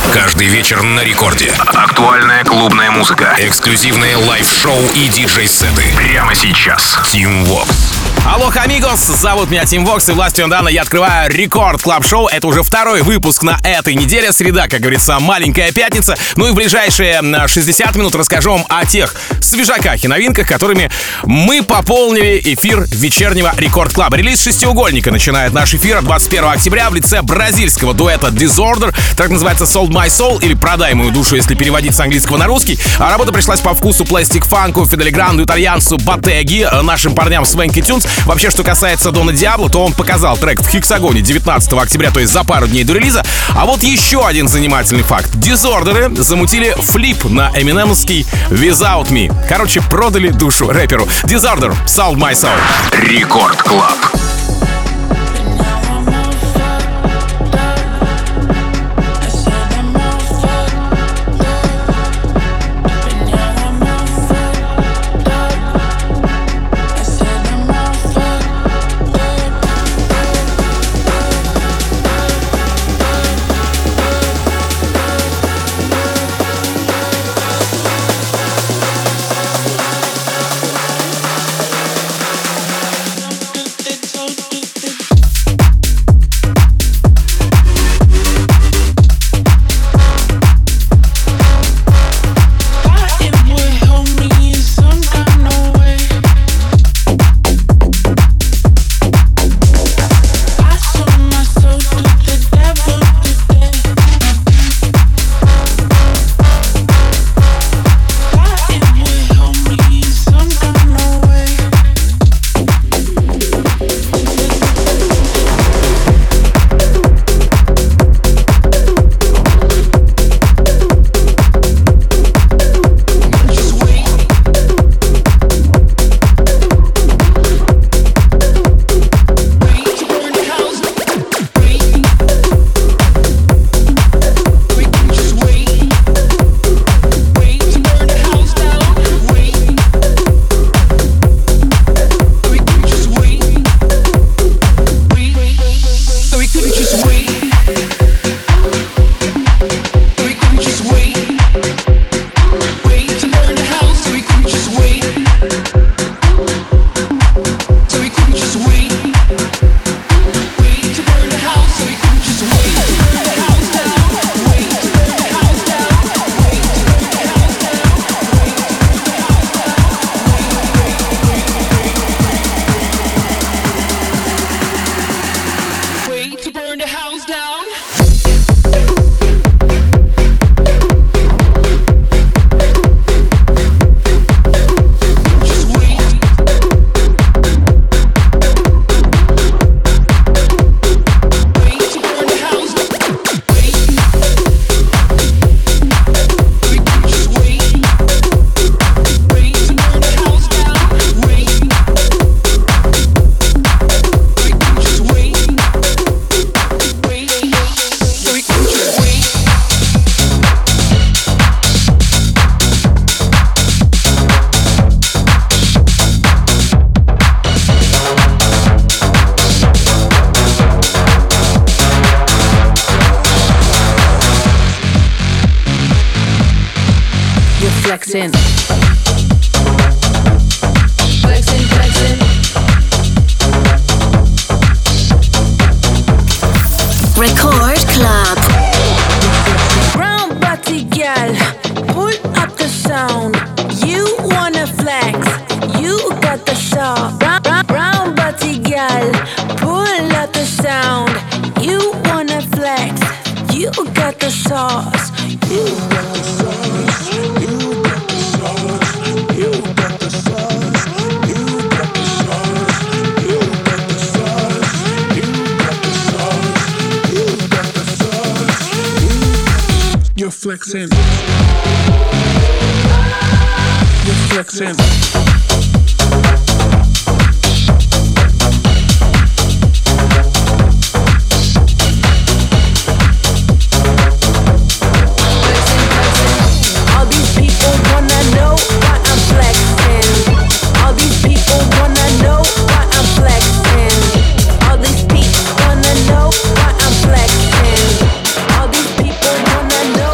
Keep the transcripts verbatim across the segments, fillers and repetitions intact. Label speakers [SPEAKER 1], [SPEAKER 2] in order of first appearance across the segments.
[SPEAKER 1] Каждый вечер на рекорде.
[SPEAKER 2] Актуальная клубная музыка.
[SPEAKER 1] Эксклюзивные лайв-шоу и диджей-сеты.
[SPEAKER 2] Прямо сейчас.
[SPEAKER 1] Team Vox.
[SPEAKER 3] Алло, амигос, зовут меня Team Vox, и властью Дана я открываю Рекорд Клаб Шоу. Это уже второй выпуск на этой неделе. Среда, как говорится, маленькая пятница. Ну и в ближайшие шестьдесят минут расскажу вам о тех свежаках и новинках, которыми мы пополнили эфир вечернего Рекорд Клаба. Релиз шестиугольника начинает наш эфир двадцать первого октября в лице бразильского дуэта Disorder. Так называется Sold My Soul, или Продай мою душу, если переводить с английского на русский. А работа пришлась по вкусу Plastic Funk, Фидель Гранду, итальянцу Bottega, нашим парням Swanky Tunes. Вообще, что касается Дона Диабло, то он показал трек в Хексагоне девятнадцатого октября, то есть за пару дней до релиза. А вот еще один занимательный факт. Дизордеры замутили флип на эминемовский Without Me. Короче, продали душу рэперу. Disorder, Sold My Soul.
[SPEAKER 2] Рекорд Клаб.
[SPEAKER 4] Flexing. Flexing, flexing.
[SPEAKER 5] Record Club.
[SPEAKER 4] Brown body gal, pull up the sound. You wanna flex, you got the sauce. Brown, brown, brown body gal, pull up the sound. You wanna flex, you got the sauce. You got the sauce. You got the sauce. You got the sauce. You got the sauce. You got the sauce. You got the sauce. You got the sauce.
[SPEAKER 6] You're flexing. You're flexing.
[SPEAKER 4] Wanna know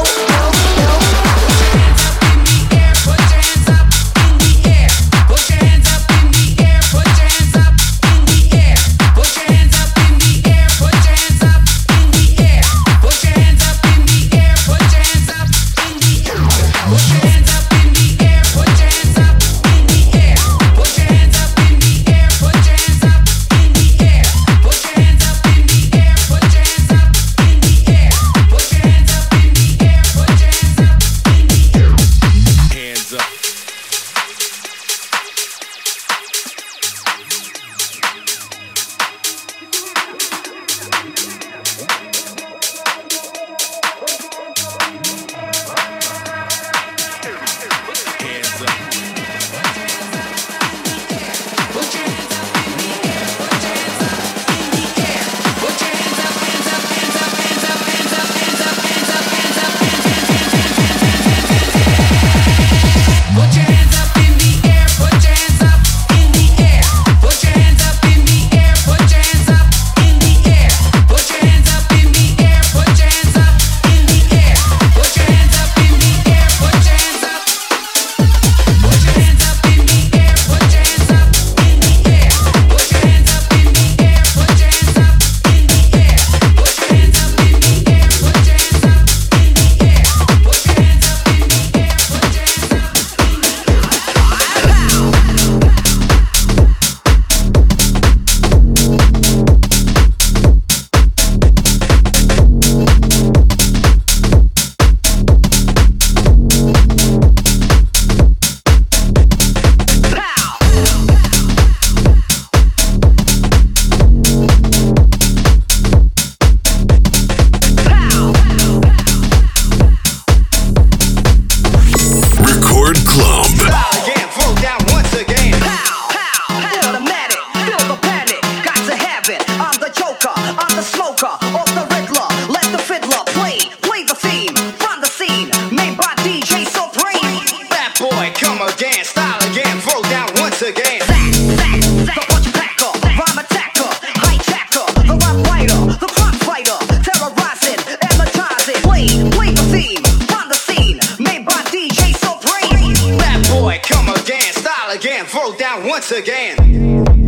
[SPEAKER 7] go down once again.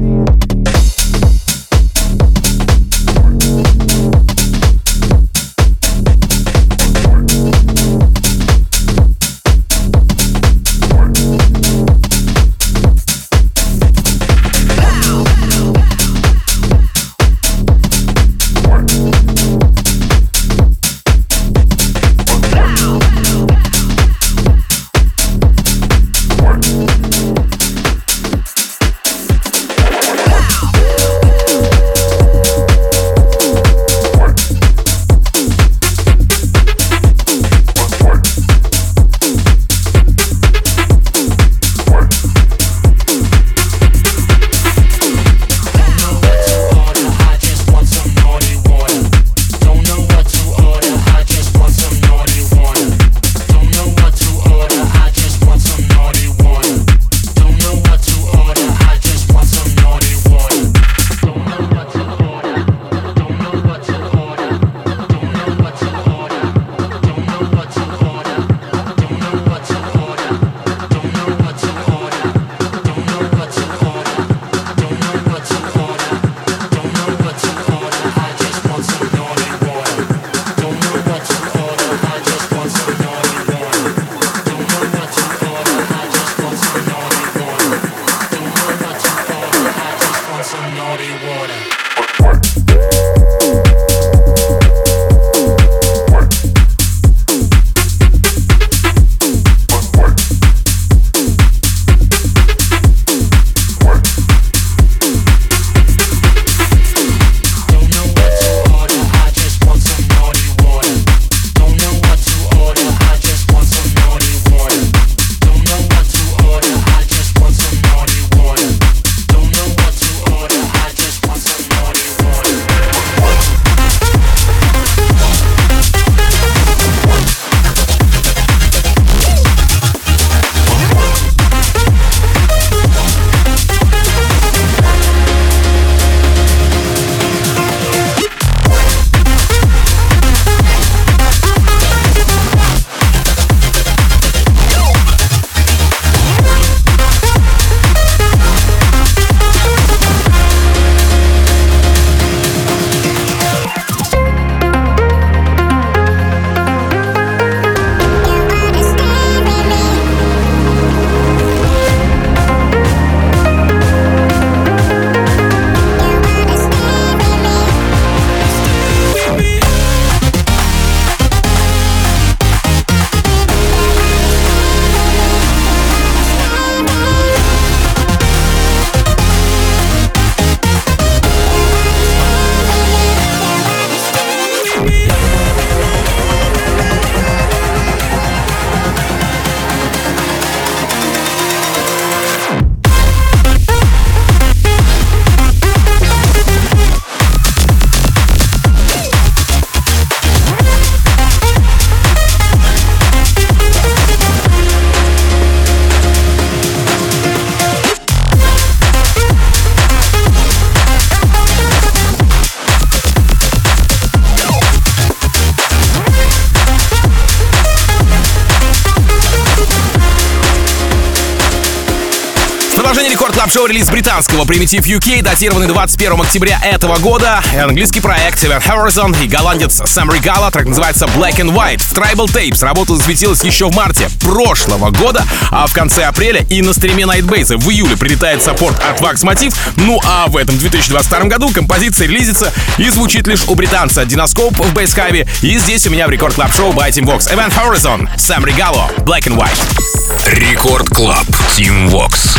[SPEAKER 3] Клаб-шоу релиз британского Primitive ю кей, датированный двадцать первого октября этого года. Английский проект Event Horizon и голландец Sam Regala, трек называется Black and White. В Tribal Tapes работа засветилась еще в марте прошлого года, а в конце апреля и на стриме Nightbase в июле прилетает саппорт от Wax Motif. Ну а в этом две тысячи двадцать втором году композиция релизится и звучит лишь у британца Dinoskop в Бейсхайве. И здесь у меня в Рекорд Клаб Шоу by Team Vox Event Horizon, Sam Regala, Black and White.
[SPEAKER 1] Рекорд Клаб, Team Vox.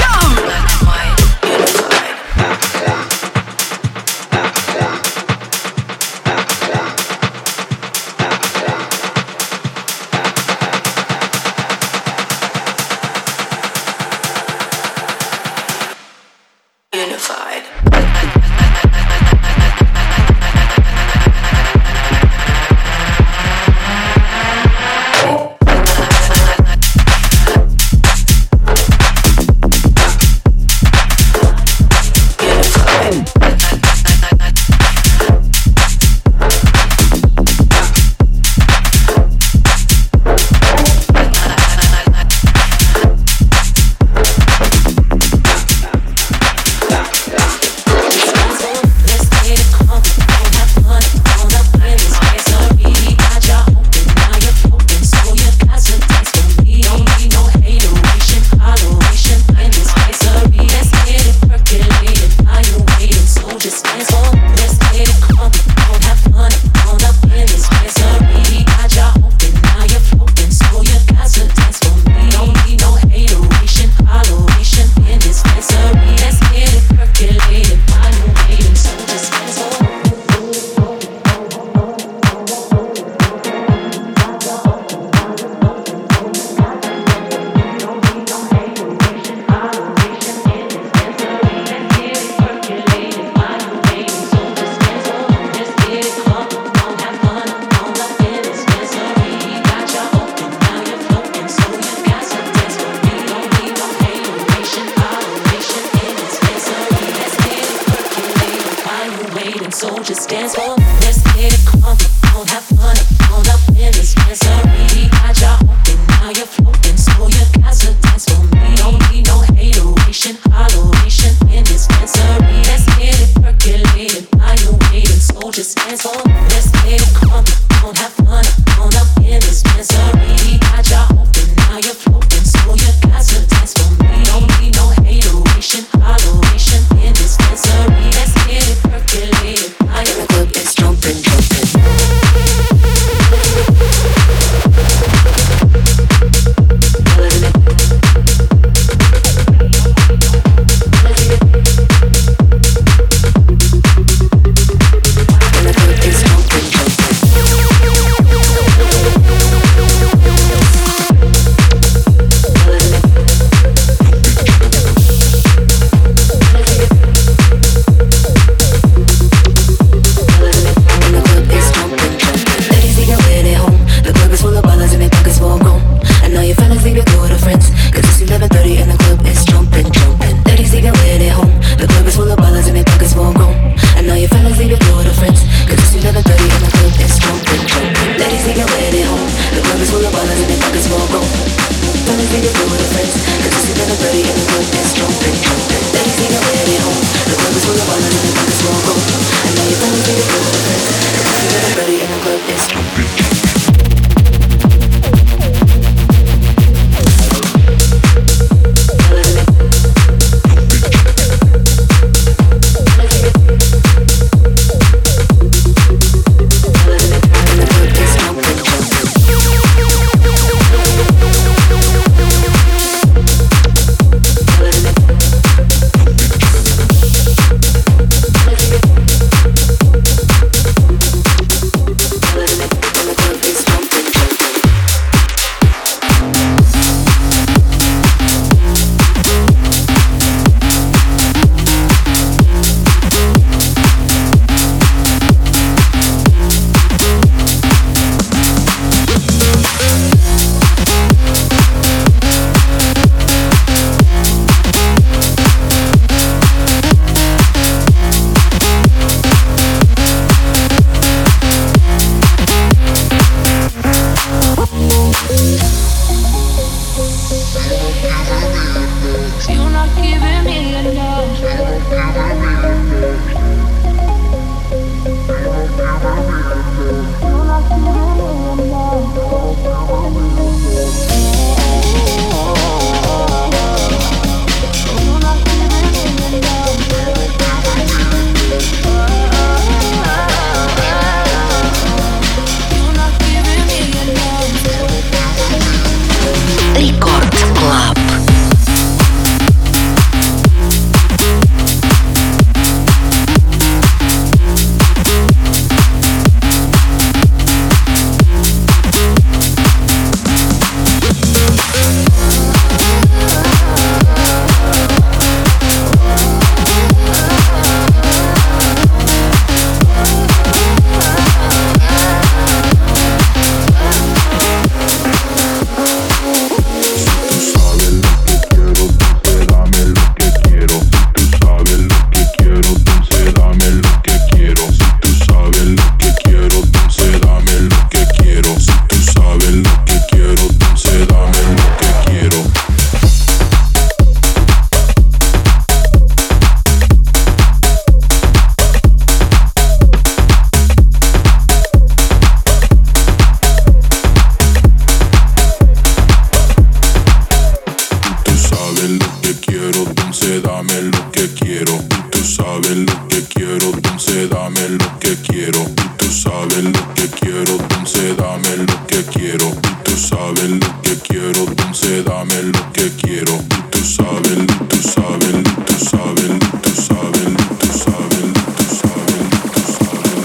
[SPEAKER 8] que quiero. Y tú sabes lo que quiero, entonces dame lo que quiero. Y tú sabes, y tú sabes, y tú sabes, y tú sabes, y tú sabes, y tú sabes, y tú sabes.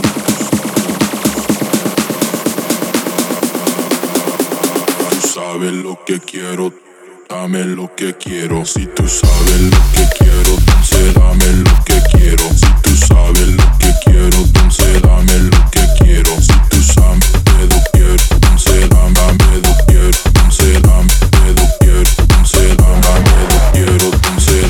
[SPEAKER 8] Tú sabes lo que quiero, dame lo que quiero. Si tú sabes lo que quiero, entonces dame lo que quiero. Si tú sabes lo que quiero, entonces dame lo que quiero. Si tú sabes lo que quiero, entonces dame lo que quiero. Entonces dame lo que quiero, entonces dame lo que quiero, entonces.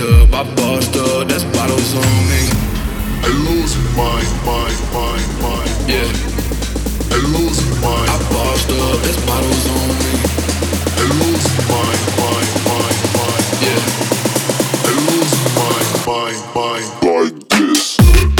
[SPEAKER 8] up, I bossed up, that's bottles on me. I lose my, my, my, my, yeah. I lose my, I bossed up, that's bottles on me. I lose my, my, my, my, yeah. I lose my, my, my, like this.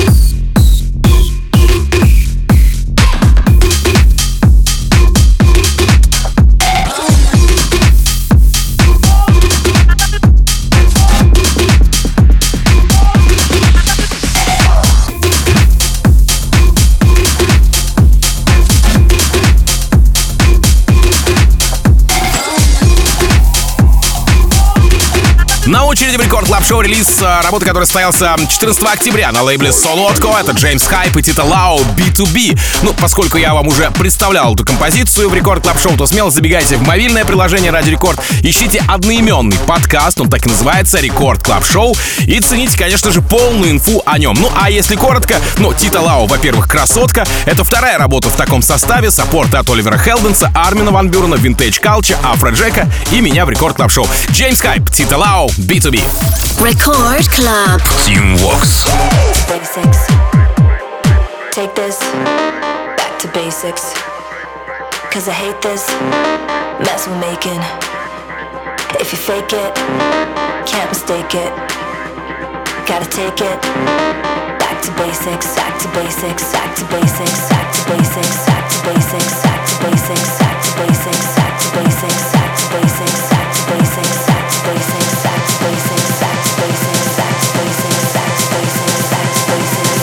[SPEAKER 3] На очереди в Рекорд Клаб Шоу релиз работы, который состоялся четырнадцатого октября на лейбле Солодко. Это Джеймс Хайп и Тита Лао би ту би. Ну, поскольку я вам уже представлял эту композицию в Рекорд Клаб Шоу, то смело забегайте в мобильное приложение Радио Рекорд, ищите одноименный подкаст, он так и называется, Рекорд Клаб Шоу, и цените, конечно же, полную инфу о нем. Ну, а если коротко, ну, Тита Лао, во-первых, красотка. Это вторая работа в таком составе, саппорты от Оливера Хелденса, Армина Ван Бюрена, Vintage Culture, Афроджека и меня в Рекорд Клаб Шоу. Джеймс Хайп, Тита Лао, би ту би.
[SPEAKER 5] Record Club.
[SPEAKER 1] Team Vox.
[SPEAKER 9] Basics. Take this back to basics. Cause I hate this mess we're making. If you fake it, can't mistake it. Gotta take it back to basics, back to basics, back to basics, back to basics, back to basics, back to basics, back to basics, back to basics, back to basics, back to basics, back to basics, back to basics, back to basics, back to basics, back to basics, back to basics,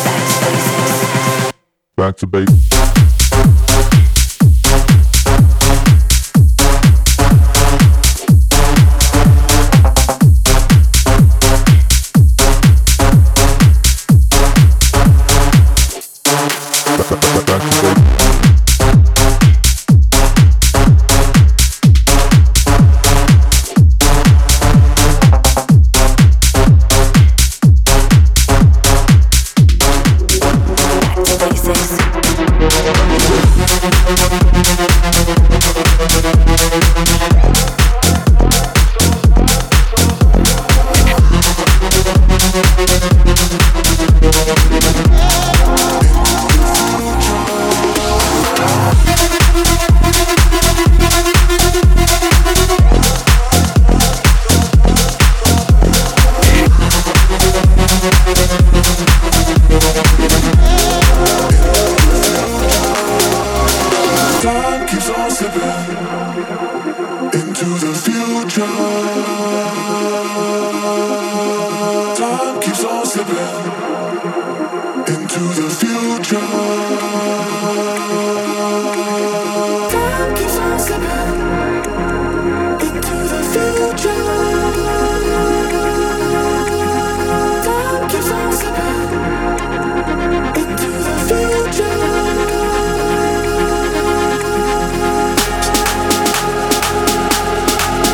[SPEAKER 9] back to basics, back to basics.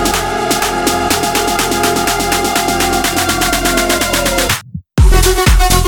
[SPEAKER 10] We'll be right back.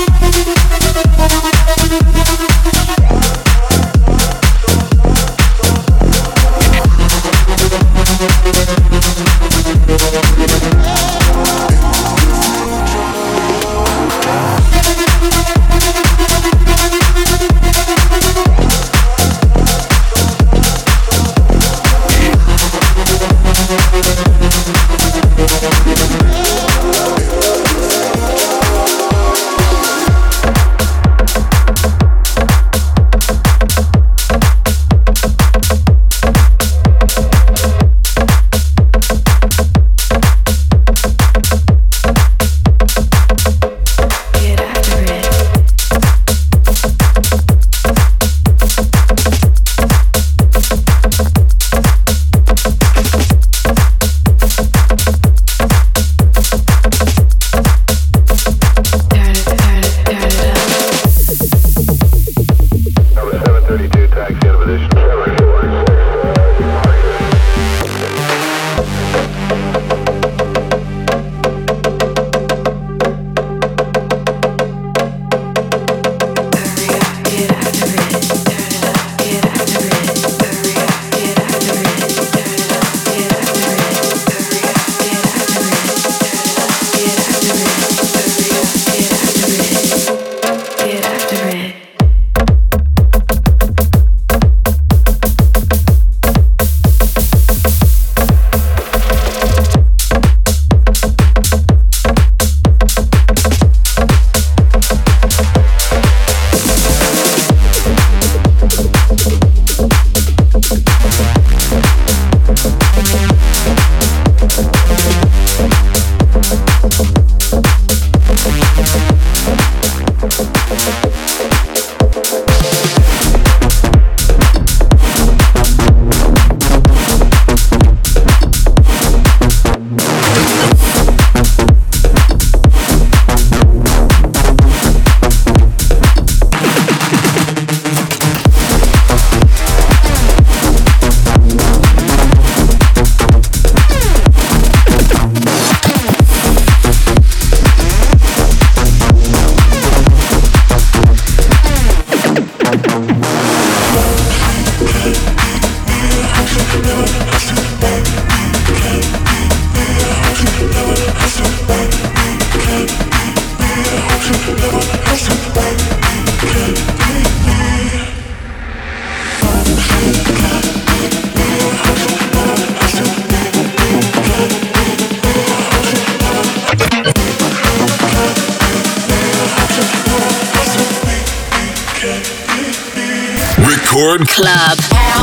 [SPEAKER 1] Record
[SPEAKER 5] Club.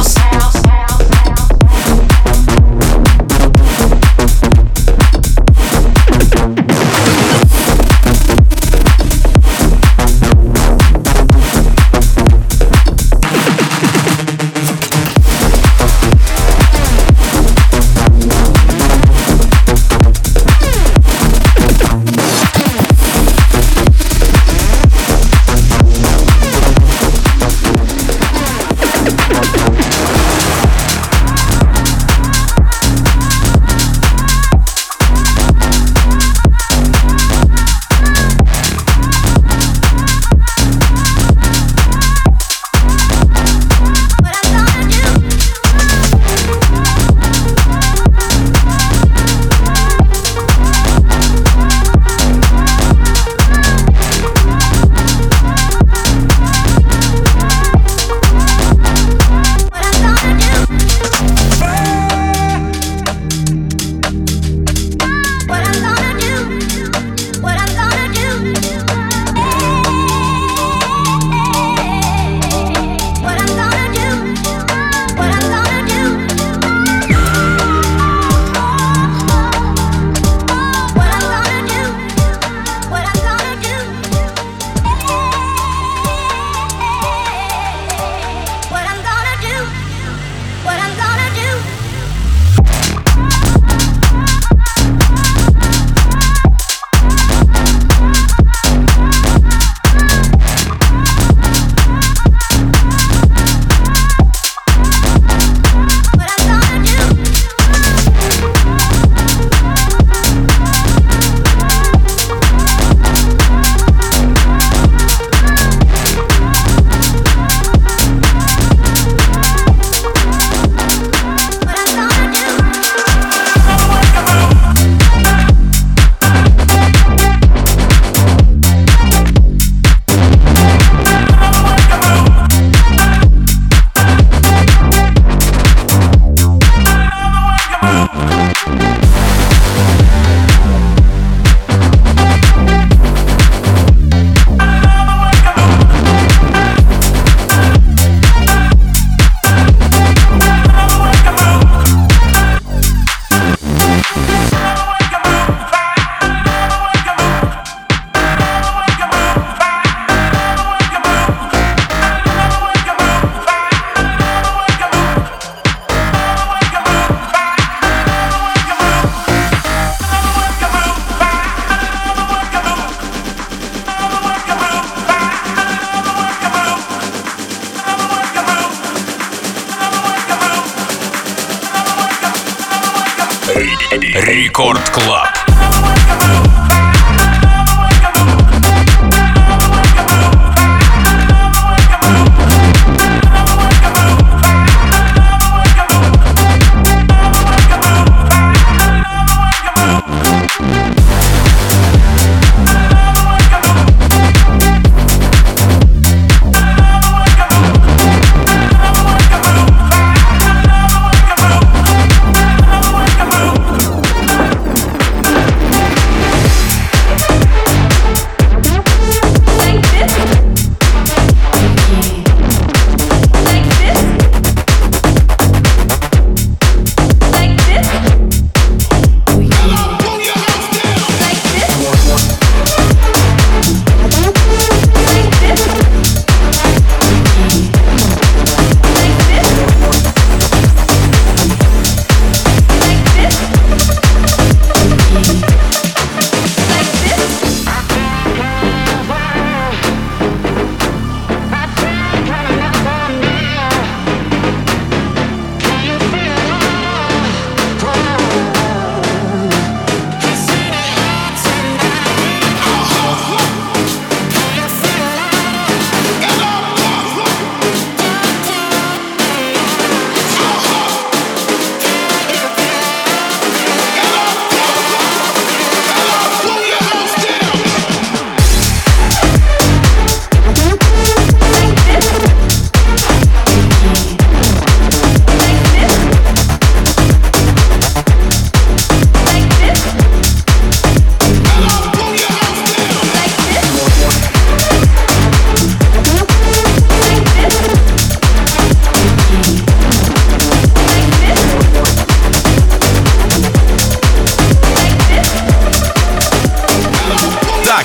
[SPEAKER 1] Рекорд Клаб.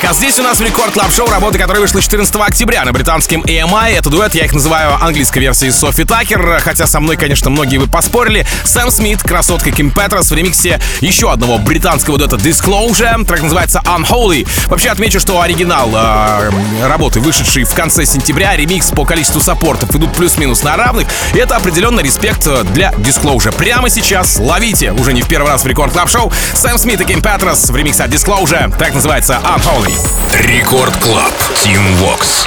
[SPEAKER 3] Так, а здесь у нас в Рекорд Клаб Шоу работа, которая вышла четырнадцатого октября на британском и эм ай. Это дуэт, я их называю английской версией Софи Такер, хотя со мной, конечно, многие вы поспорили. Сэм Смит, красотка Ким Петрос в ремиксе еще одного британского дуэта Disclosure. Трек называется Unholy. Вообще отмечу, что оригинал э, работы, вышедший в конце сентября, ремикс по количеству саппортов идут плюс-минус на равных. И это определенно респект для Disclosure. Прямо сейчас ловите, уже не в первый раз в Рекорд Клаб Шоу, Сэм Смит и Ким Петрос в ремиксе от Disclosure. Трек называется Unholy.
[SPEAKER 1] Рекорд Клаб. Team Vox.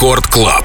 [SPEAKER 1] Рекорд Клаб.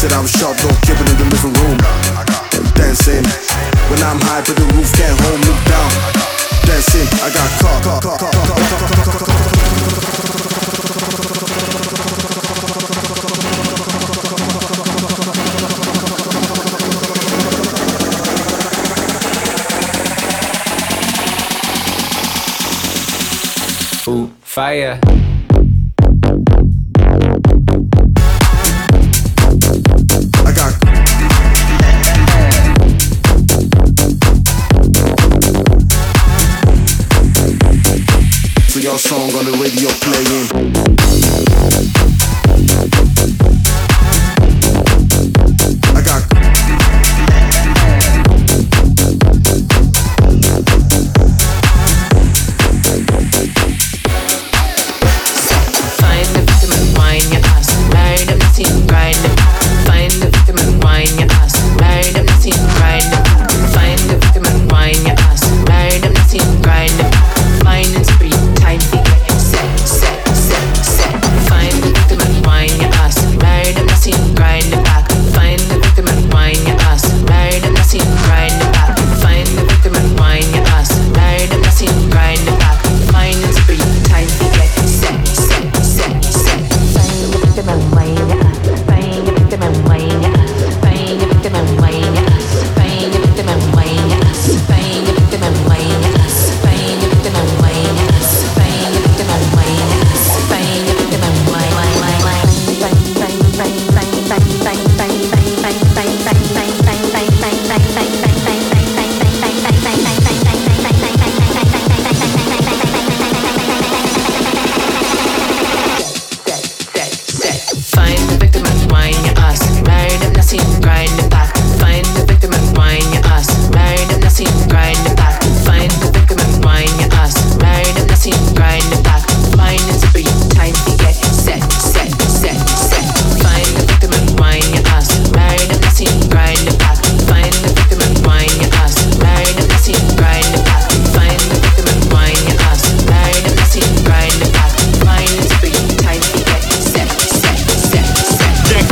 [SPEAKER 10] said I was sharp, don't keep it in the living room. Dancing, when I'm high, but the roof can't hold me down. Dancing, I got caught, caught, caught, caught, caught, caught, caught, caught.
[SPEAKER 11] Ooh, fire.
[SPEAKER 10] I got so your song on the radio playing. I got
[SPEAKER 12] find the victim and whine your ass. Marry them, not even grind them. Find the victim and whine your ass. Marry them, not even grind them. Find the victim and whine your ass. Marry them, not even grind them. Fine and spree, time to get set, set, set, set. Find the victim and whine your ass. Marry them, not even grind them back. Find the victim and whine your ass. Marry them, not even grind them back. Find the victim and whine your ass. Marry them, not even grind them back. Fine and spree, time to get set, set, set, set. Find the victim and whine your ass. Find the victim and whine your ass. Find the victim and whine your ass. Find the victim and whine your ass. Find the victim and whine your ass. Find the victim and whine your ass. Find the victim and whine your ass. Find the victim and whine, whine, whine, whine. Find the victim and whine your ass. Marry them, not even grind them back. Find the victim and whine your ass. Marry them, not even grind them back. Find the victim and whine your ass. Marry them, not even grind them back. Fine and spree, time to get set, set, set, set. Find the victim and whine your ass. Marry them, not even grind them back. Find the victim and whine your ass. Marry them, not even grind them back. Find the victim and whine your ass. Marry them, not even grind them back. Fine and spree, time to get set, set, set, set.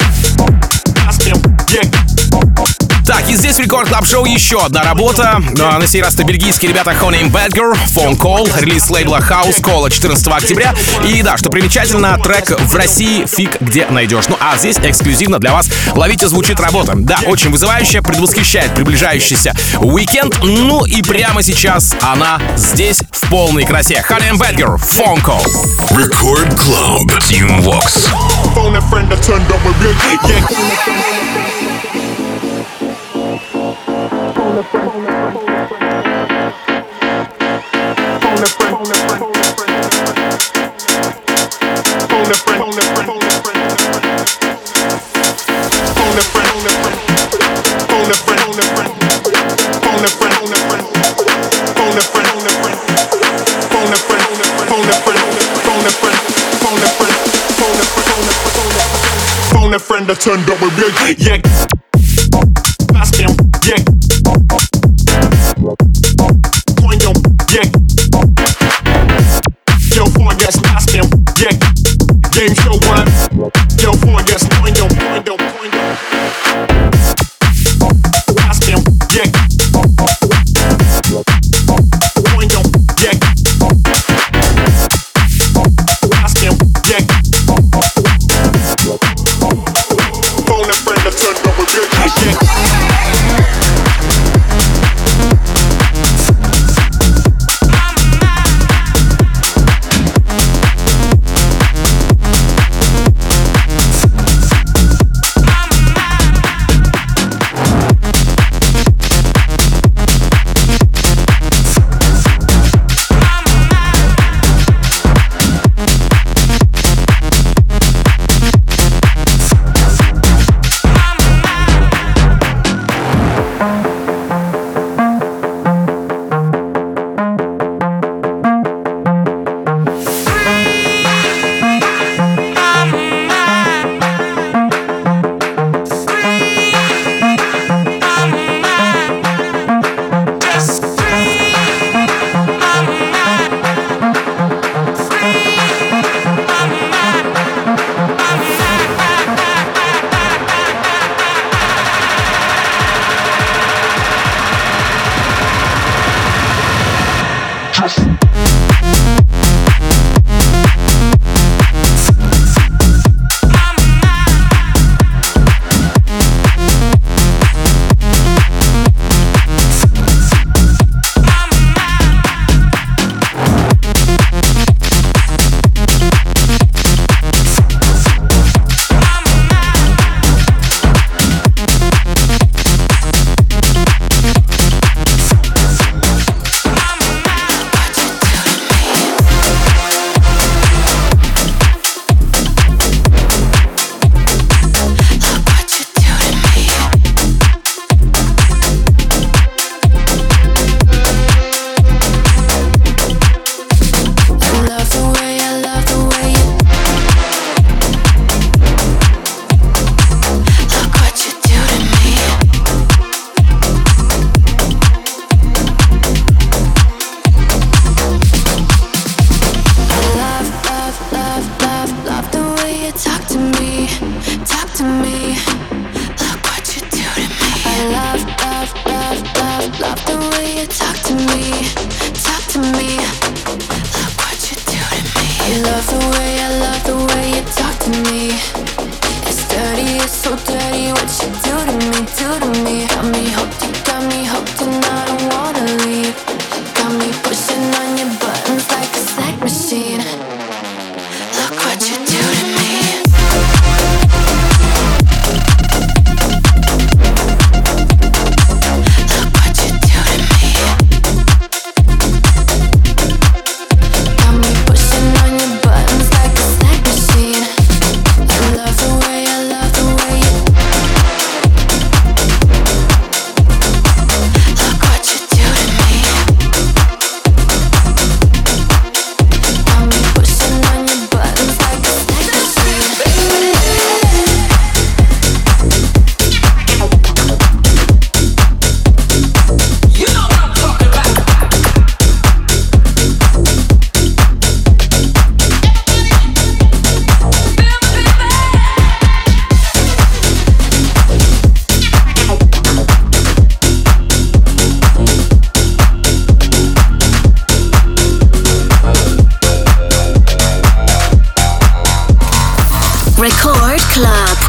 [SPEAKER 3] Так, и здесь в Рекорд Клаб Шоу еще одна работа. Но на сей раз это бельгийские ребята Honey and Badger, Phone Call, релиз лейбла House Call четырнадцатого октября. И да, что примечательно, трек в России фиг где найдешь. Ну а здесь эксклюзивно для вас ловите, звучит работа. Да, очень вызывающая, предвосхищает приближающийся уикенд. Ну и прямо сейчас она здесь в полной красе. Honey and Badger, Phone Call.
[SPEAKER 1] Record Club. Team Vox.
[SPEAKER 8] Phone a friend that turned up with me. Yeah. Phone a friend. Phone a friend. Phone a friend. Phone a friend. Phone a friend. Phone a friend. Phone a friend. Phone a friend. Phone a friend. Phone a friend. Phone a friend. Phone a friend. Phone a friend. Phone a friend. Phone a friend. Phone a friend. Phone a friend. Phone a friend that turned up with me. Yeah. Ask him. Yeah. Coin him. Yeah. Yo, boy, yes, ask him. Yeah. Game show one. Yo, boy, yes, coin him. Coin him. Coin him. Ask him. Yeah. Coin him. Yeah. Ask him. Yeah. Phone a friend that turned up with me. Yeah.
[SPEAKER 9] so dirty. What you do to me, do to me. Got me hooked, you got me hooked, and I don't wanna leave. Got me pushing on your buttons like a sex machine. Look what you do to me. Look what you do to me. Got me pushing on your buttons like a sex machine. I love the way, I love the way you. Look what you do to me. Got me pushing on your buttons like a sex machine. You know what I'm talking about.
[SPEAKER 5] Record Club.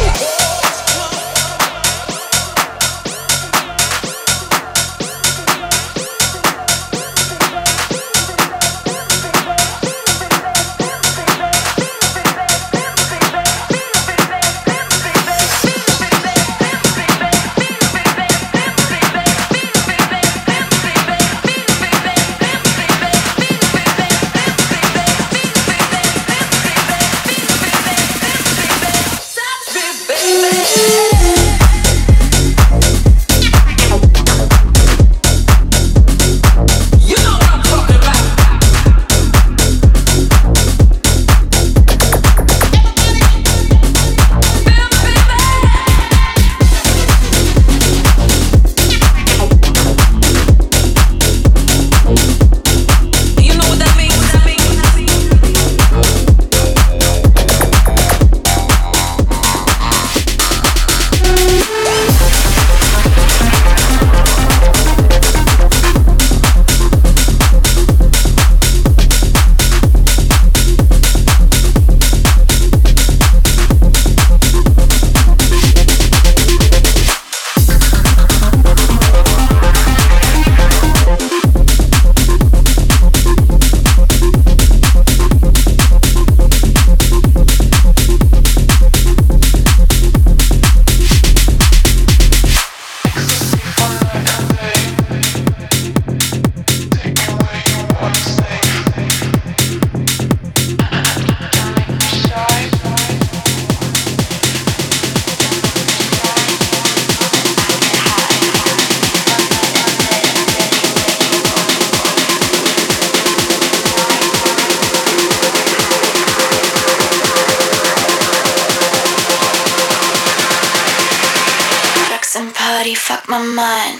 [SPEAKER 9] Party, fuck my mind.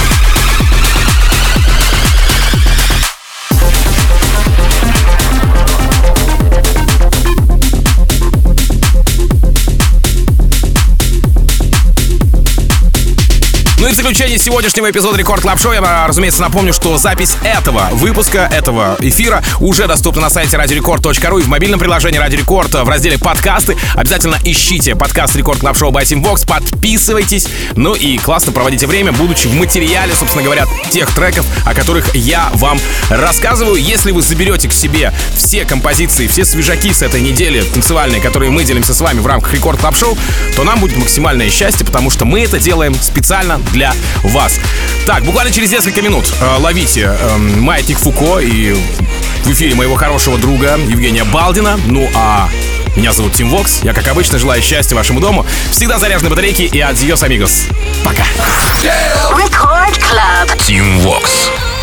[SPEAKER 3] Ну и в заключение сегодняшнего эпизода Рекорд Клаб Шоу я, разумеется, напомню, что запись этого выпуска, этого эфира уже доступна на сайте радио рекорд точка ру и в мобильном приложении Радио Рекорд в разделе «Подкасты». Обязательно ищите подкаст Рекорд Клаб Шоу by Team Vox, подписывайтесь, ну и классно проводите время, будучи в материале, собственно говоря, тех треков, о которых я вам рассказываю. Если вы заберете к себе все композиции, все свежаки с этой недели танцевальные, которые мы делимся с вами в рамках Рекорд Клаб Шоу, то нам будет максимальное счастье, потому что мы это делаем специально для вас. Так, буквально через несколько минут э, ловите э, Маятник Фуко и в эфире моего хорошего друга Евгения Балдина. Ну а меня зовут Тим Вокс. Я, как обычно, желаю счастья вашему дому. Всегда заряженной батарейки и адьос, амигос. Пока.
[SPEAKER 5] Record Club.
[SPEAKER 1] Team Vox.